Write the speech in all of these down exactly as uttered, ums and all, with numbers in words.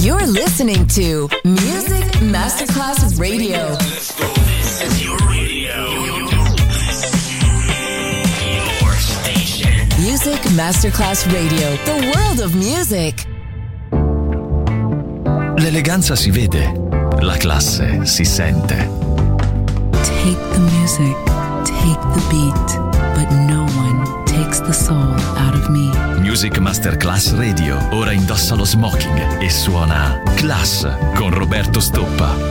You're listening to Music Masterclass Radio. Let's go. This is your radio. Your station. Music Masterclass Radio. The world of music. L'eleganza si vede, la classe si sente. Take the music, take the beat, but no one takes the soul out of me. Music Masterclass Radio. Ora indossa lo smoking e suona Class con Roberto Stoppa.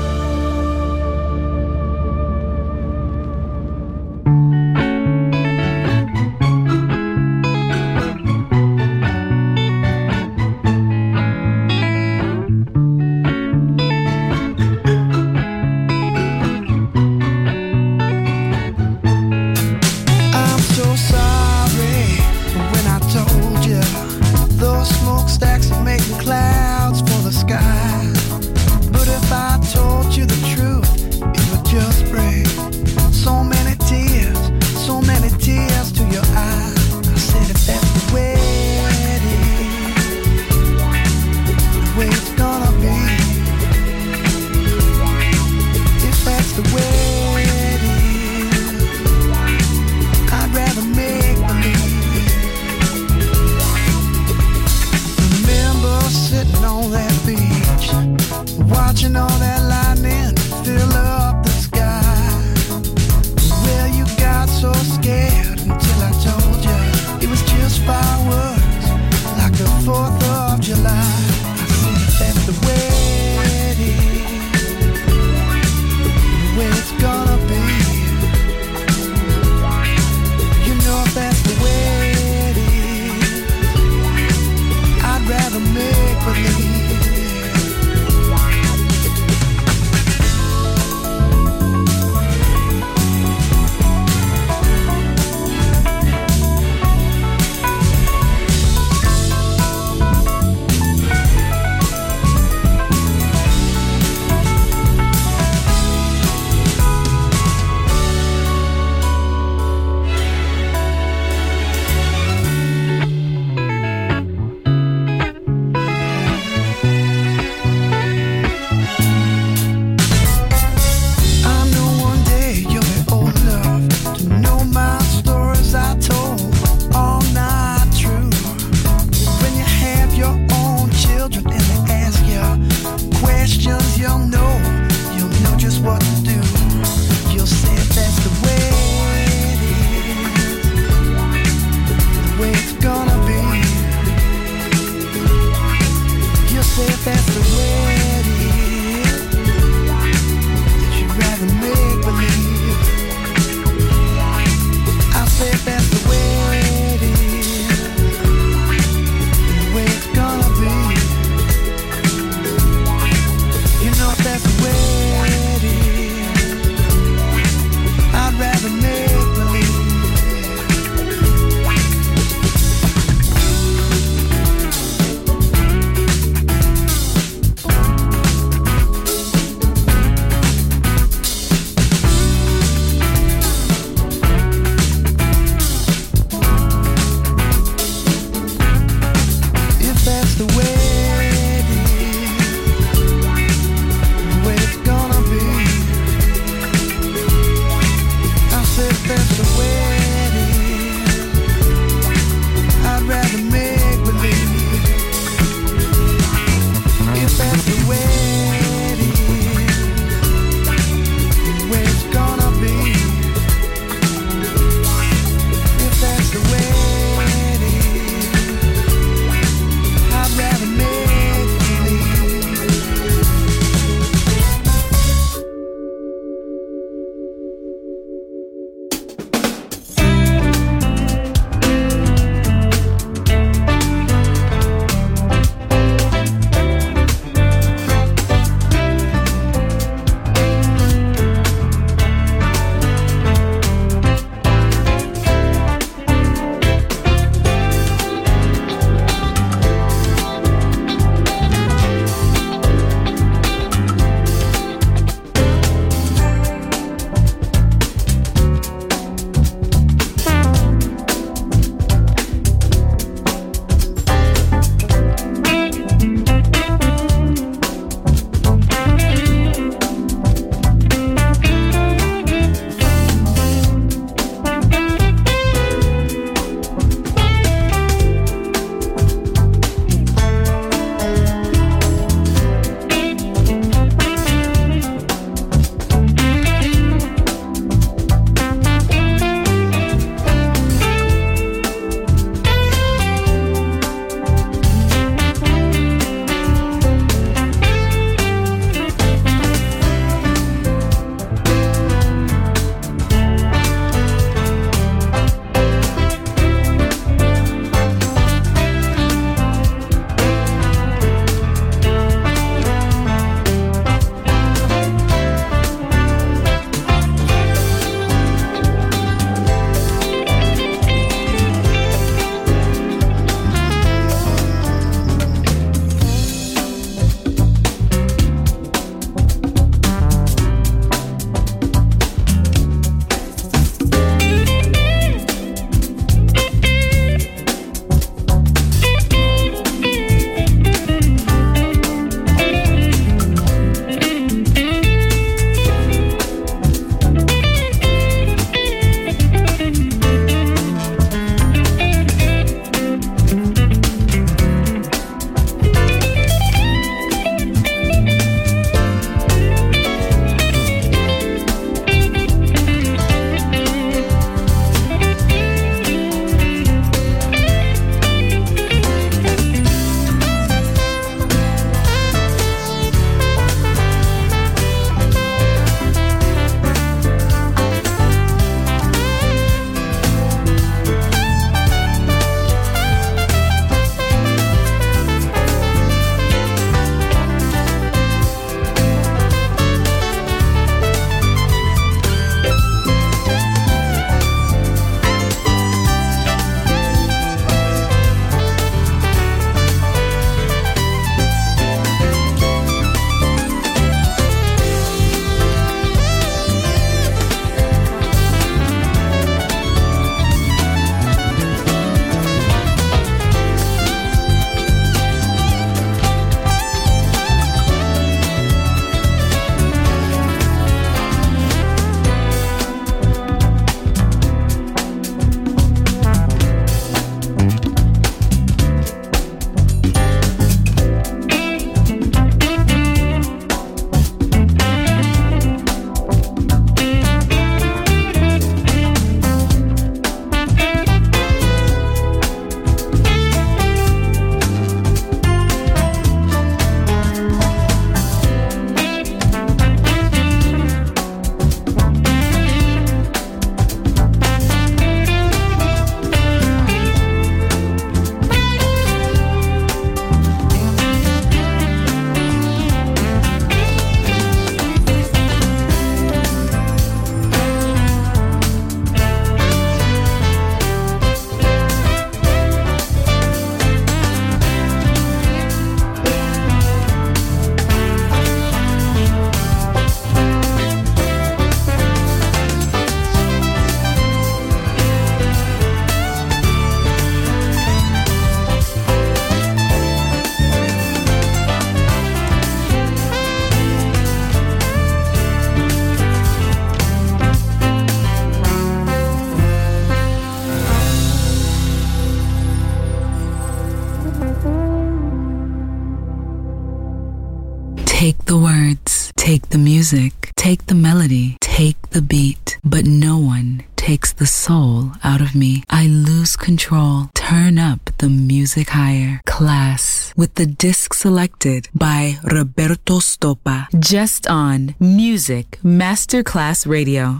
Take the words, take the music, take the melody, take the beat, but no one takes the soul out of me. I lose control. Turn up the music higher. Class with the disc selected by Roberto Stoppa. Just on Music Masterclass Radio.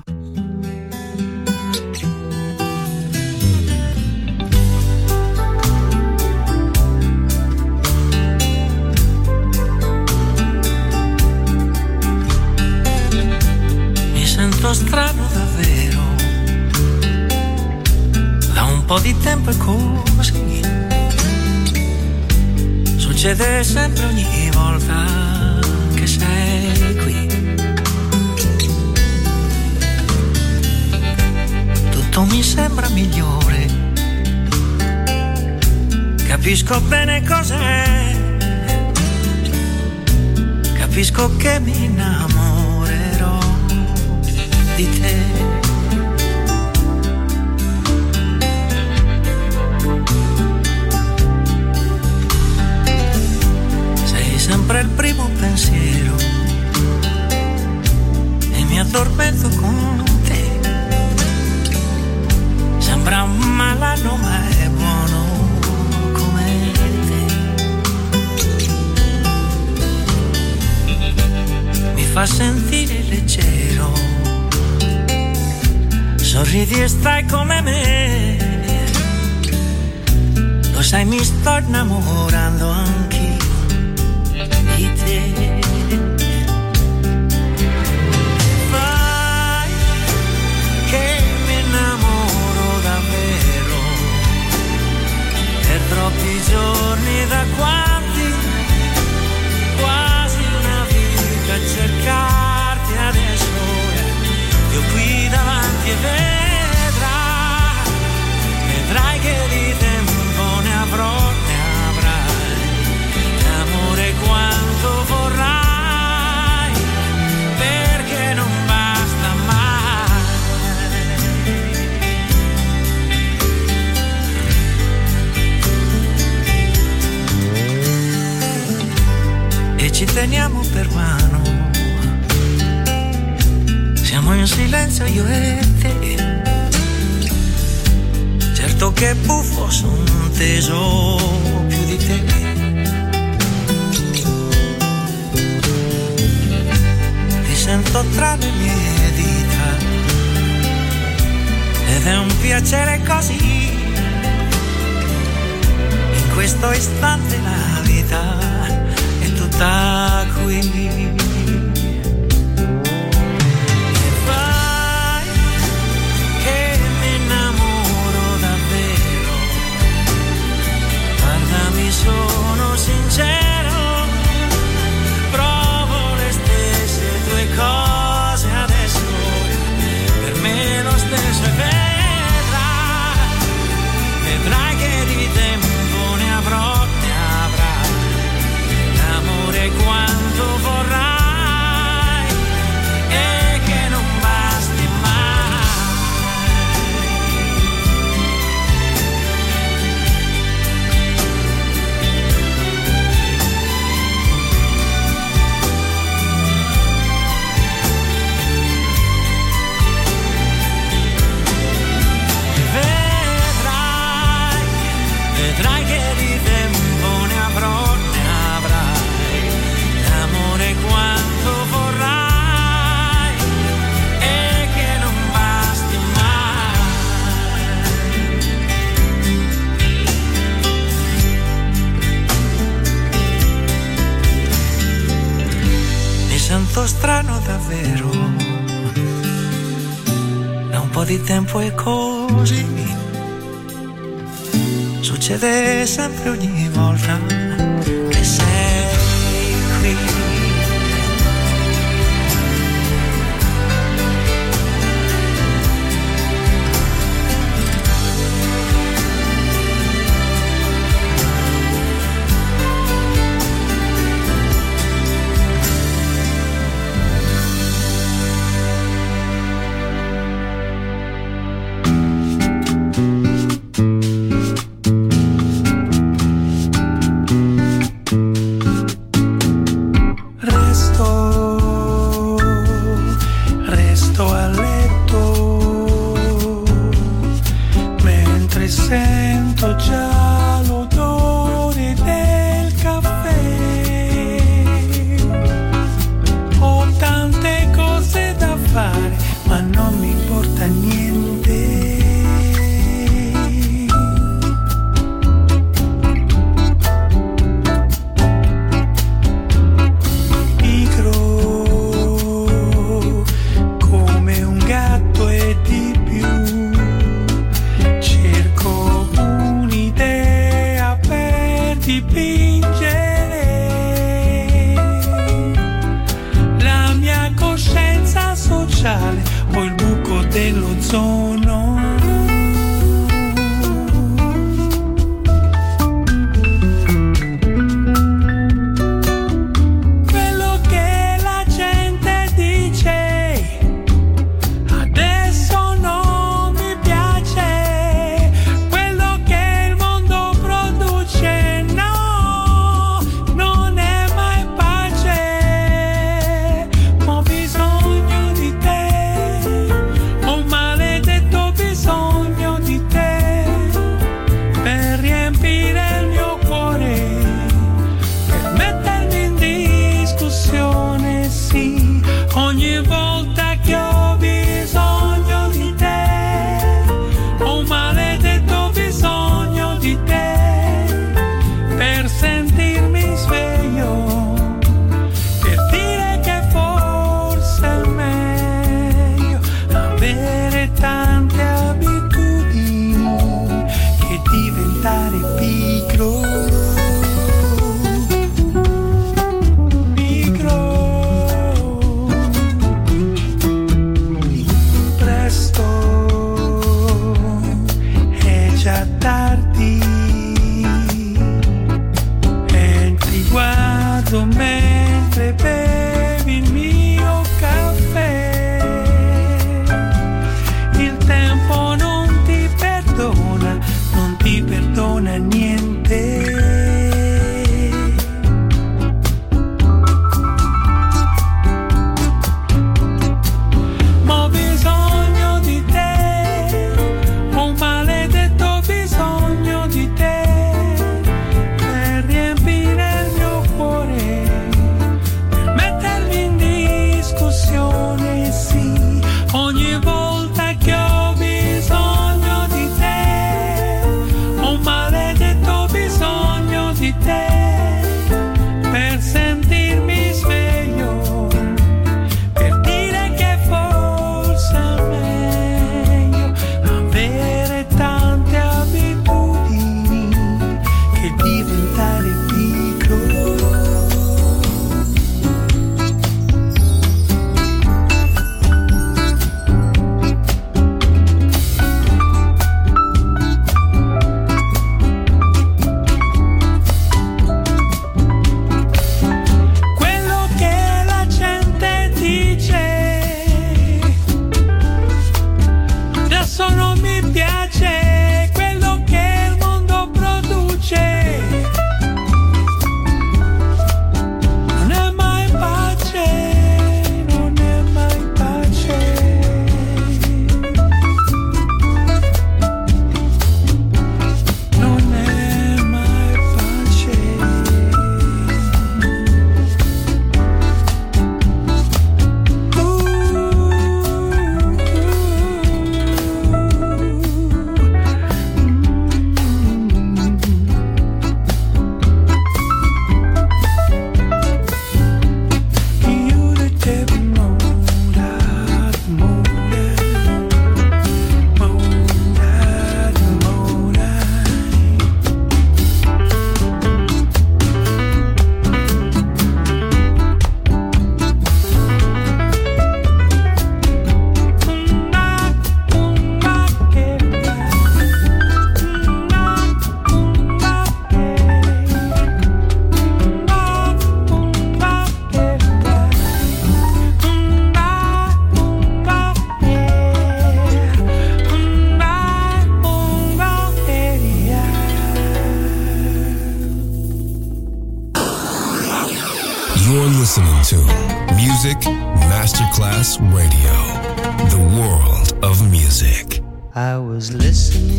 Sento strano davvero, da un po' di tempo è così, succede sempre ogni volta che sei qui, tutto mi sembra migliore, capisco bene cos'è, capisco che mi innamorerò di te. Sei sempre il primo pensiero e mi addormento con te. Sembra un malanno ma è buono come te. Mi fa sentire leggero, sorridi e stai come me, lo sai mi sto innamorando anch'io di te. Fai che mi innamoro davvero, per troppi giorni da quanti, quasi una vita a cercarti adesso. Io qui davanti e vedrai, vedrai che di tempo ne avrò, ne avrai, l'amore quanto vorrai, perché non basta mai. E ci teniamo per mano, siamo in silenzio io e te, certo che buffo son teso più di te. Ti sento tra le mie dita ed è un piacere così, in questo istante la vita è tutta qui. Sono sincero, provo le stesse tue cose adesso, per me lo stesso e vedrai, vedrai che di tempo ne avrò, ne avrai, l'amore quanto vorrai e che non basti mai. Vedrai che di tempo ne avrò, ne avrai, l'amore quanto vorrai e che non basti mai. Mi sento strano davvero, da un po' di tempo è così, succede sempre ogni volta che sei qui. ricordo mentre bevi il mio caffè. Il tempo non ti perdona, non ti perdona niente. listening to Music Masterclass Radio, the world of music. I was listening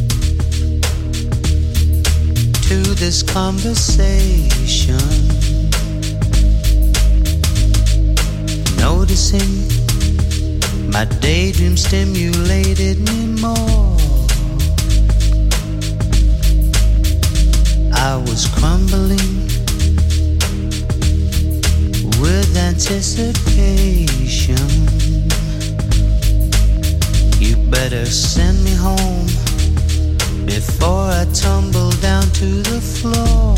to this conversation, noticing my daydream stimulated me more. I was crumbling with anticipation. You better send me home before I tumble down to the floor.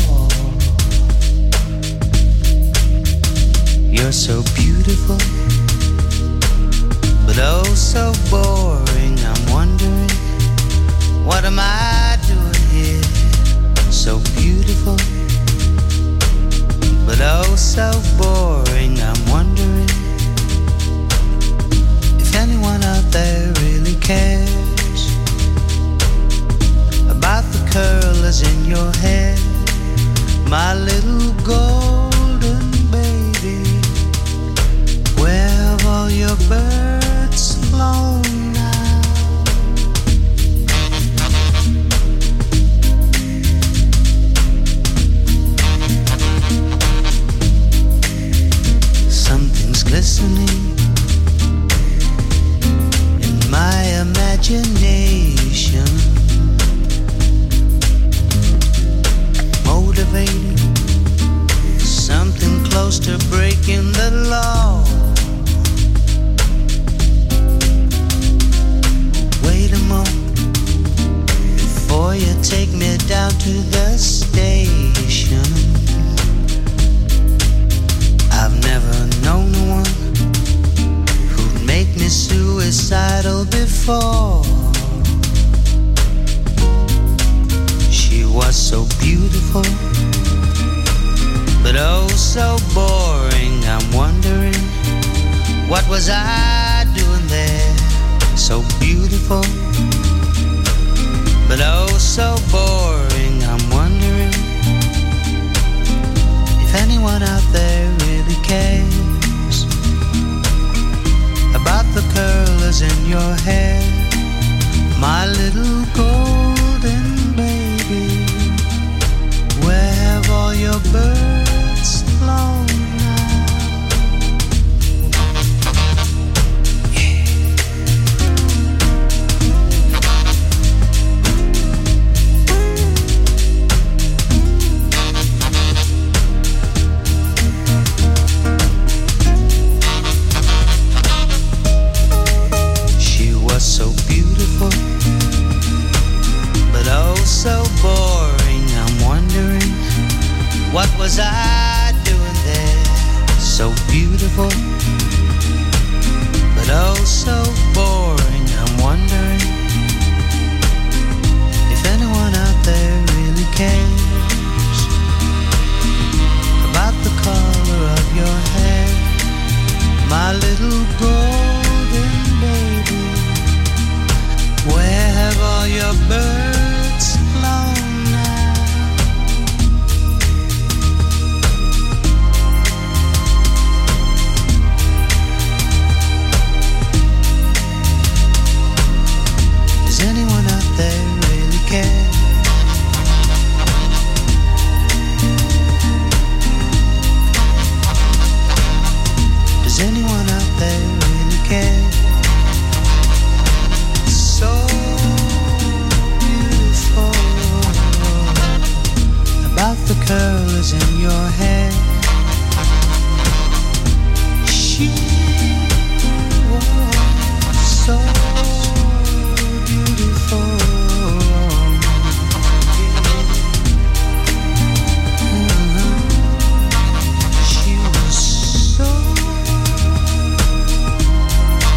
You're so beautiful, but oh so boring. I'm wondering, what am I doing here? So beautiful, but oh so boring. I'm wondering if anyone out there really cares about the curlers in your hair, my little golden baby. Where have all your birds flown now? Something's glistening in my imagination, motivating something close to breaking the law. Wait a moment before you take me down to the station. I've never known one who'd make me suicidal before. She was so beautiful, but oh so boring, I'm wondering, what was I doing there? So beautiful, but oh so boring, I'm wondering if anyone out there really cares about the curlers in your hair, my little golden baby. Where have all your birds flown now? Yeah. She was so beautiful, but oh so boring, I'm wondering, what was I doing there? So beautiful, but oh so boring, I'm wondering if anyone out there really cares about the color of your hair, my little golden baby. Where have all your birds flown now? Does anyone out there really care? Does anyone out there really care? So beautiful, about the curls in your hair. She was so beautiful. She was so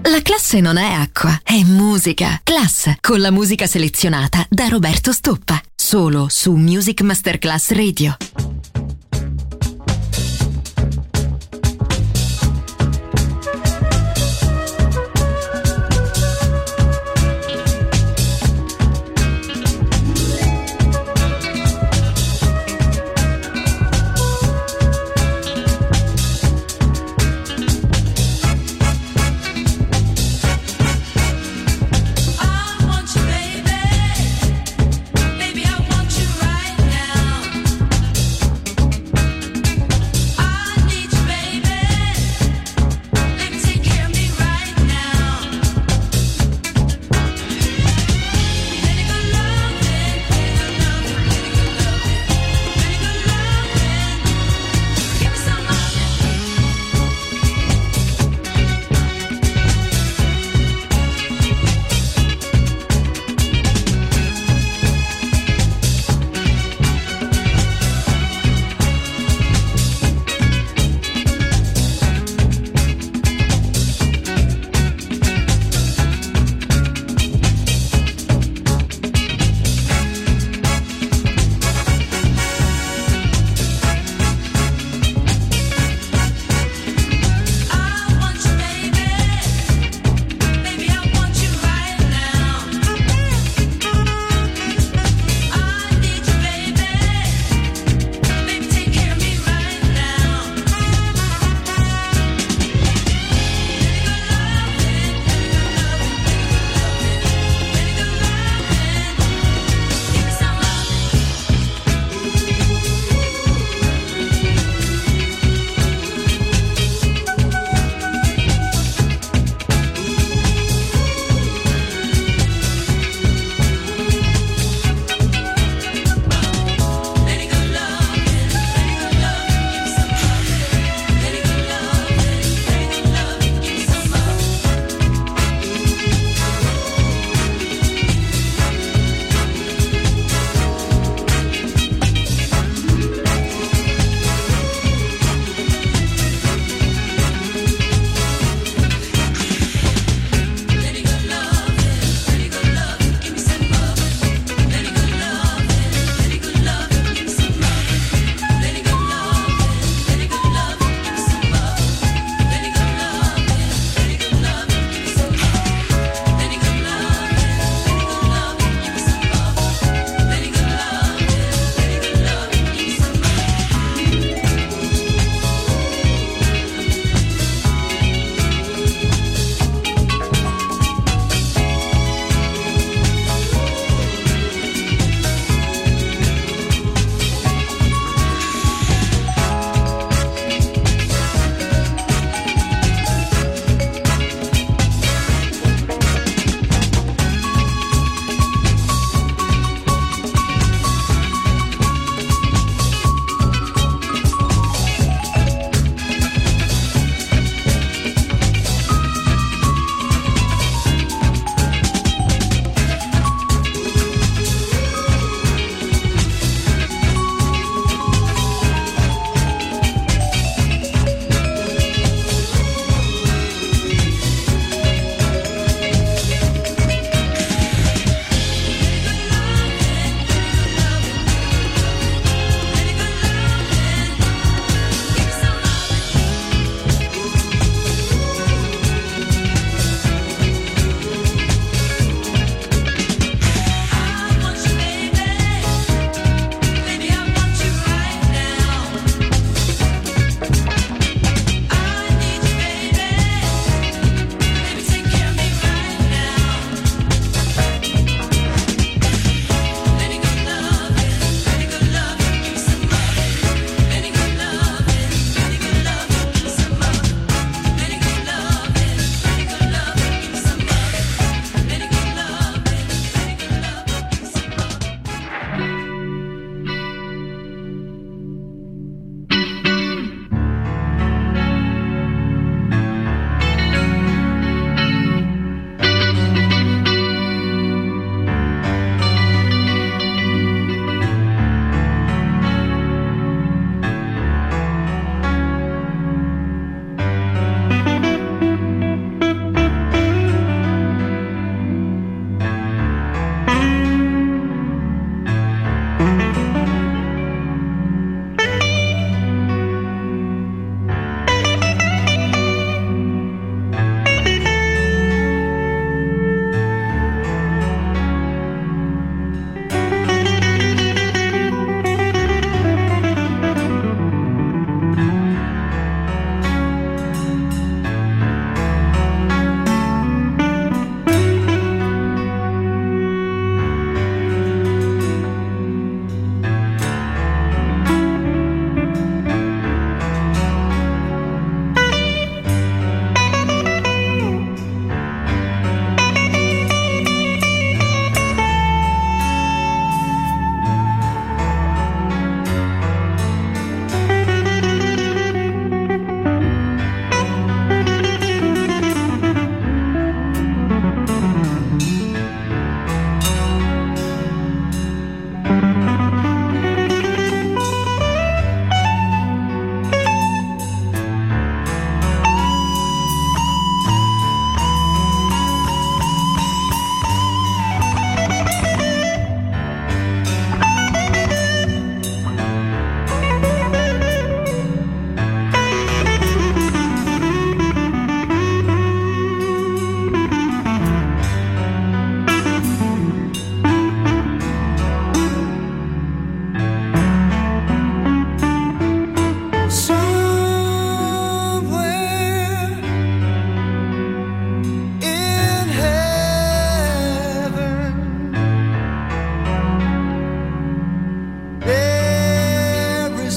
La classe non è acqua, è musica. Class, con la musica selezionata da Roberto Stoppa. Solo su Music Masterclass Radio. Baby, I want you right now.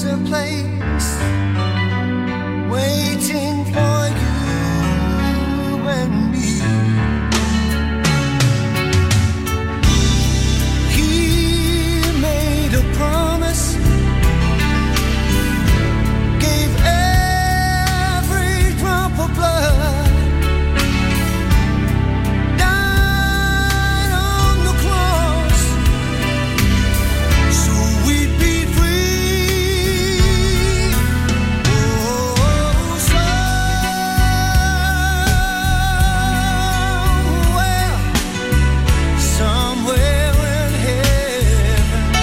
There's a place waiting for you and me. He made a promise, gave every drop of blood, died on the cross so we'd be free. Oh, somewhere, somewhere in heaven,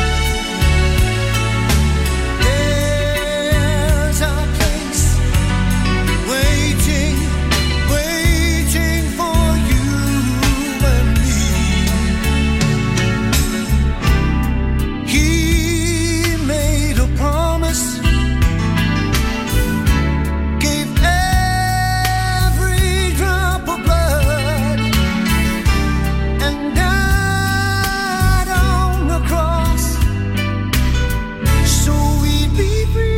there's a place waiting, waiting for you and me. He made a promise, gave every drop of blood, and died on the cross so we'd be free.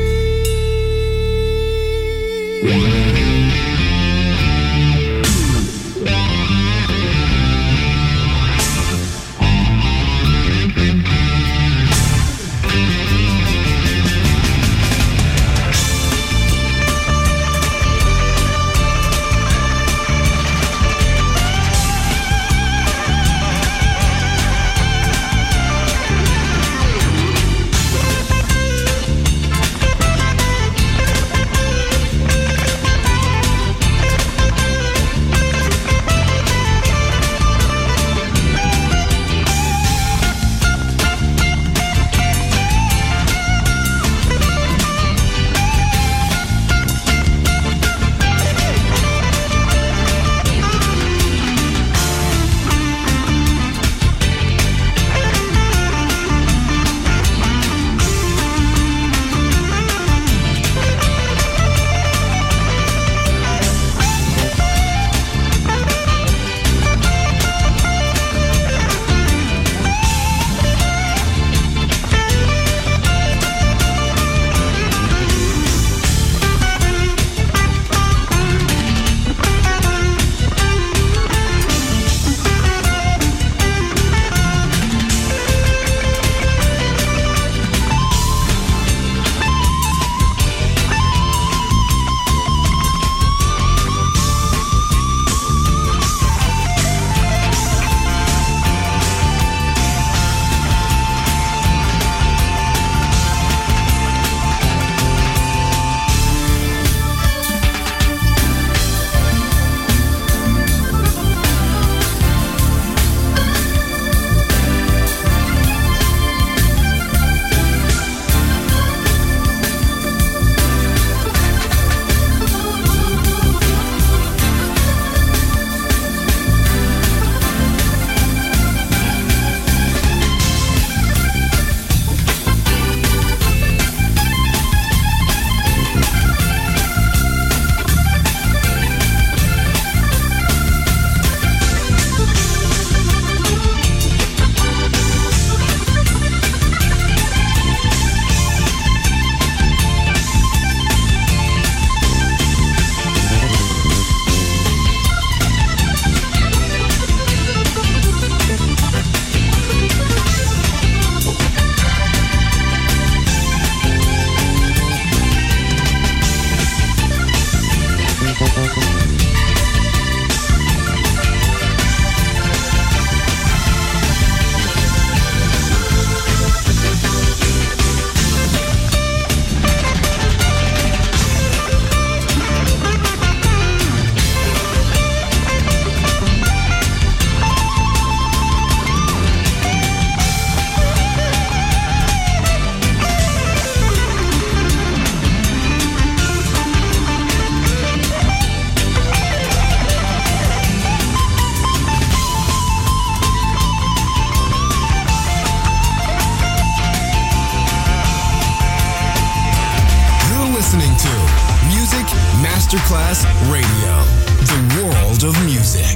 Masterclass Radio, the world of music.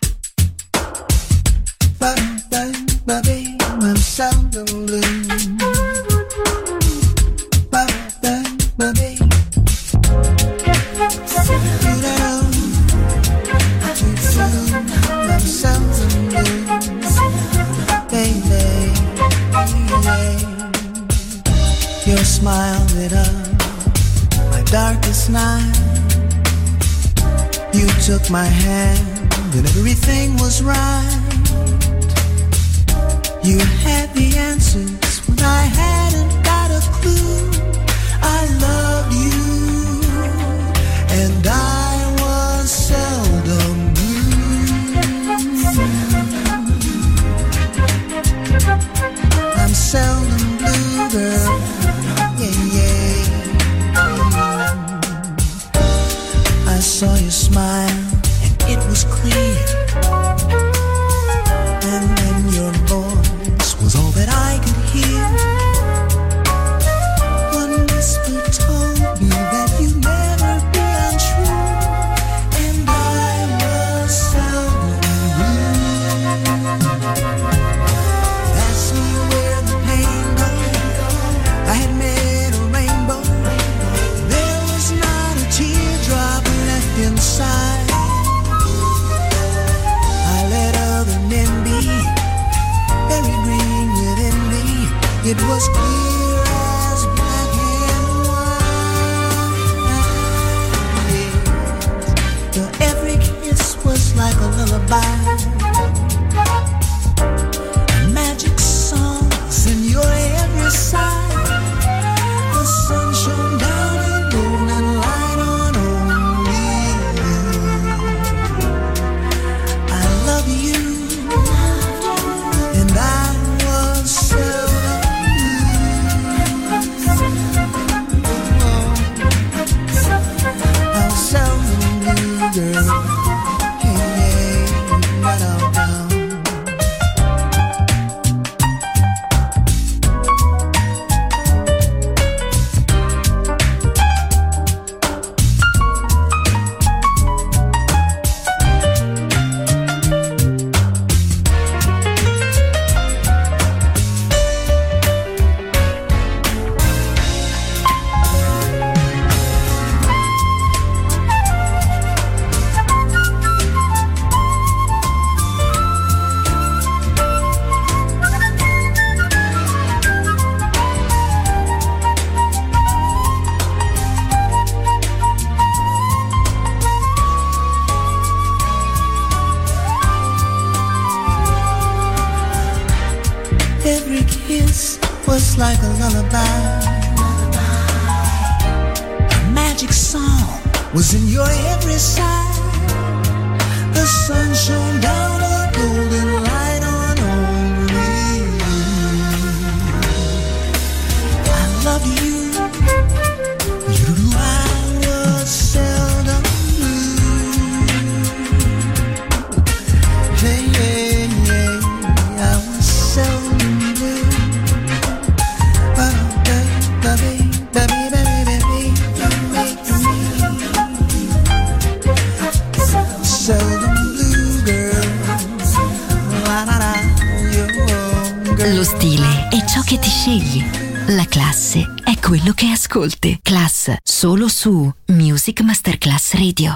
Bye, bye, bye, bye, I'm sound of blue. Your smile lit up my darkest night. You took my hand and everything was right. You had the answers when I hadn't got a clue. I loved you and I was seldom blue. I'm seldom blue, girl. Yeah, yeah. I saw you smile and it was clear. And then your voice was all that I could hear. One whisper told me that you'd never be untrue, and I was seldom blue. Ask me where the pain goes. I had met a rainbow. There was not a teardrop left inside. I let other men be very green within me. It was clear as black and white. Your every kiss was like a lullaby. A magic song was in your every sigh. The sun shone down a golden light on only you. I love you, and I was seldom blue. I was seldom blue, girl. Hey, hey, right on down. Every kiss was like a lullaby. A magic song was in your every sigh. The sun shone down a golden light on only you. I love you. You knew I was seldom blue. Hey, yeah, yeah, I was seldom blue. Baby, baby, baby, baby, you make me seldom blue, girl. La, la, la, you, girl. Lo stile è ciò che ti scegli. La classe è quello che ascolti. Class solo su Music Masterclass Radio.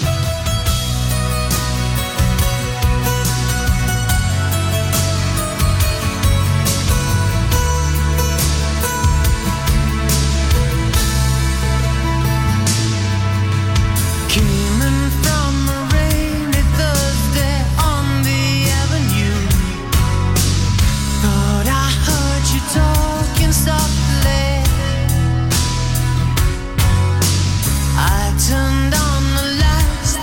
Coming from a rainy Thursday on the avenue, thought I heard you talking softly. I turned on the lights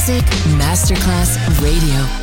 Music Masterclass Radio.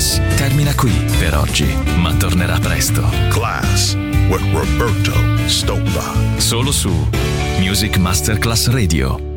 Class termina qui per oggi, ma tornerà presto. Class with Roberto Stoppa. Solo su Music Masterclass Radio.